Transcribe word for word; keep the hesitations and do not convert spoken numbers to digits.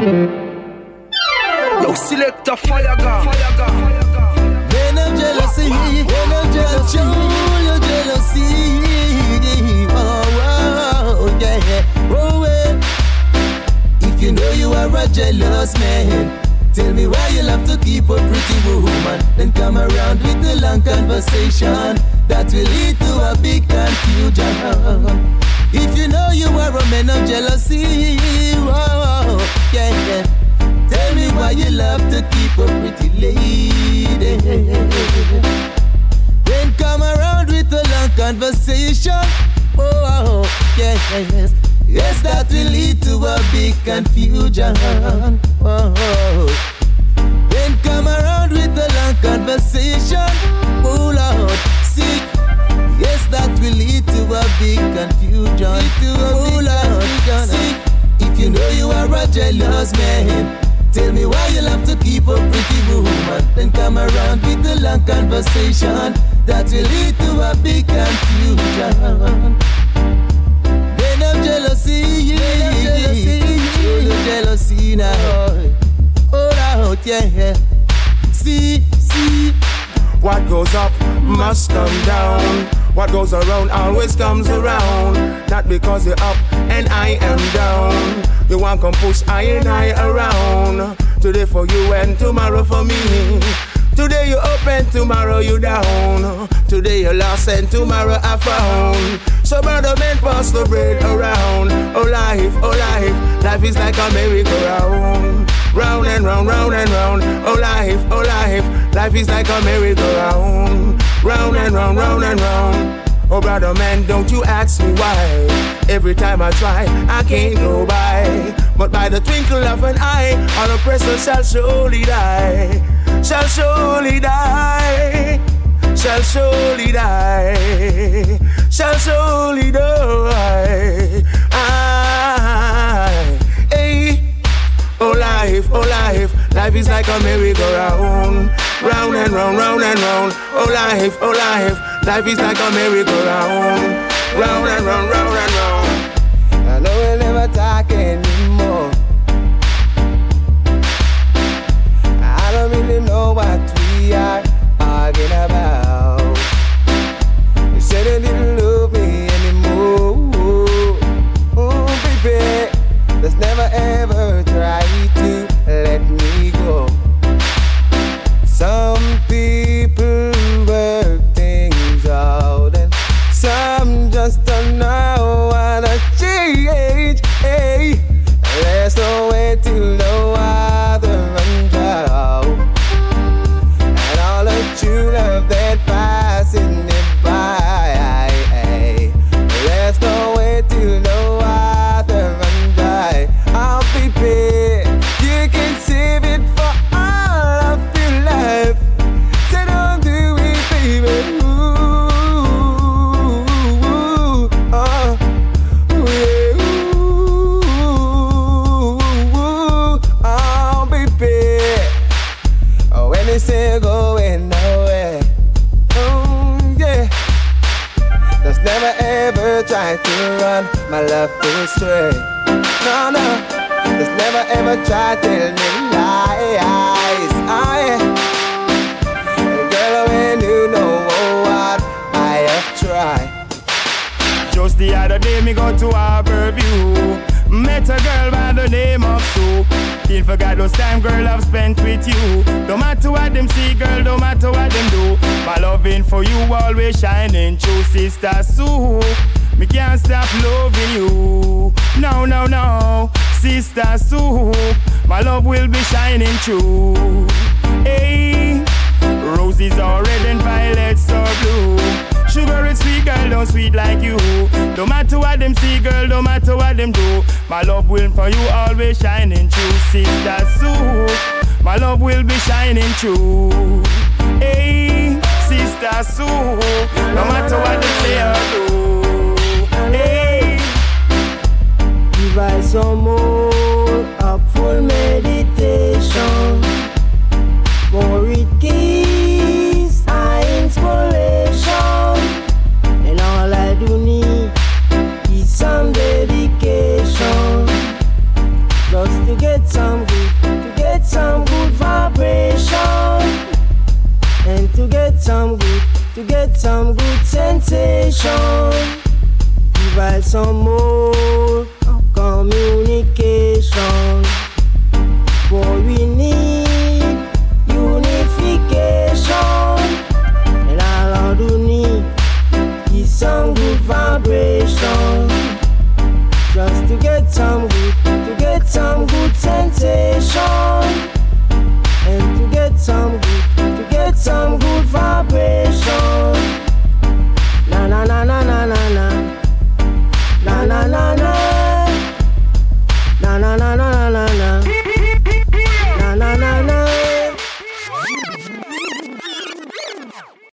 Yo, select a fire gun. When I'm jealousy, when I'm jealousy, your jealousy. Oh, oh, yeah. Oh, yeah. If you know you are a jealous man, tell me why you love to keep a pretty woman, then come around with a long conversation that will lead to a big confusion. If you know you are a man of jealousy, oh, yeah, yeah. Tell me why you love to keep a pretty lady. Then come around with a long conversation. Oh, yeah, yes. Yes, that will lead to a big confusion. Oh, then come around with a long conversation. Oh, Lord, see. Yes, that will lead to a big confusion. Oh, Lord, see. If you know you are a jealous man, tell me why you love to keep a pretty woman, then come around with a long conversation that will lead to a big confusion. Then I'm jealousy, show the jealousy now. Hold out, yeah, yeah. See, see. What goes up must come down. What goes around always comes around. Not because you're up and I am down. You want come push I and I around. Today for you and tomorrow for me. Today you up and tomorrow you down. Today you lost and tomorrow I found. So brother man pass the bread around. Oh life, oh life, life is like a merry-go-round. Round and round, round and round. Oh life, oh life, life is like a merry-go-round. Round and round, round and round. Oh brother man, don't you ask me why. Every time I try, I can't go by. But by the twinkle of an eye, our oppressor shall surely die. Shall surely die. Shall surely die. Shall surely die. I, hey. Oh life, oh life, life is like a merry-go-round. Round and round, round and round. Oh life, oh life, life is like a merry-go-round. Round and round, round and round. I know we'll never talk anymore. I don't really know what we are arguing about. You said you didn't love me anymore. Oh baby, let's never ever try to let me go. Some people work things out and some just don't know how to change. Hey, there's no way to know how to run out. And all the true love that passing it by. There's no way to know how to run dry. I'll be paid. You can save it for all of your life. So don't do it, baby. Say going nowhere. Oh yeah. Just never ever try to run my love astray. No, no. Just never ever try to tell me lies. Oh yeah. Girl, when you know what I have tried. Just the other day me go to Harborview. Met a girl by the name of Sue. Can't forget those time, girl, I've spent with you. No matter what them see, girl, no matter what them do, my loving for you always shining true, Sister Sue. Me can't stop loving you. No, no, no, Sister Sue. My love will be shining true. Hey, roses are red and violets are blue. Sugar is sweet, girl, don't sweet like you. No matter what them see, girl, no matter what them do, my love will for you always shining true, Sister Sue. My love will be shining true. Hey, Sister Sue. No matter what they say or do. Hey, give I some more of full meditation, for it gives I inspiration. And all I do need is some dedication, just to get some good, to get some good vibration. And to get some good, to get some good sensation. Give us some more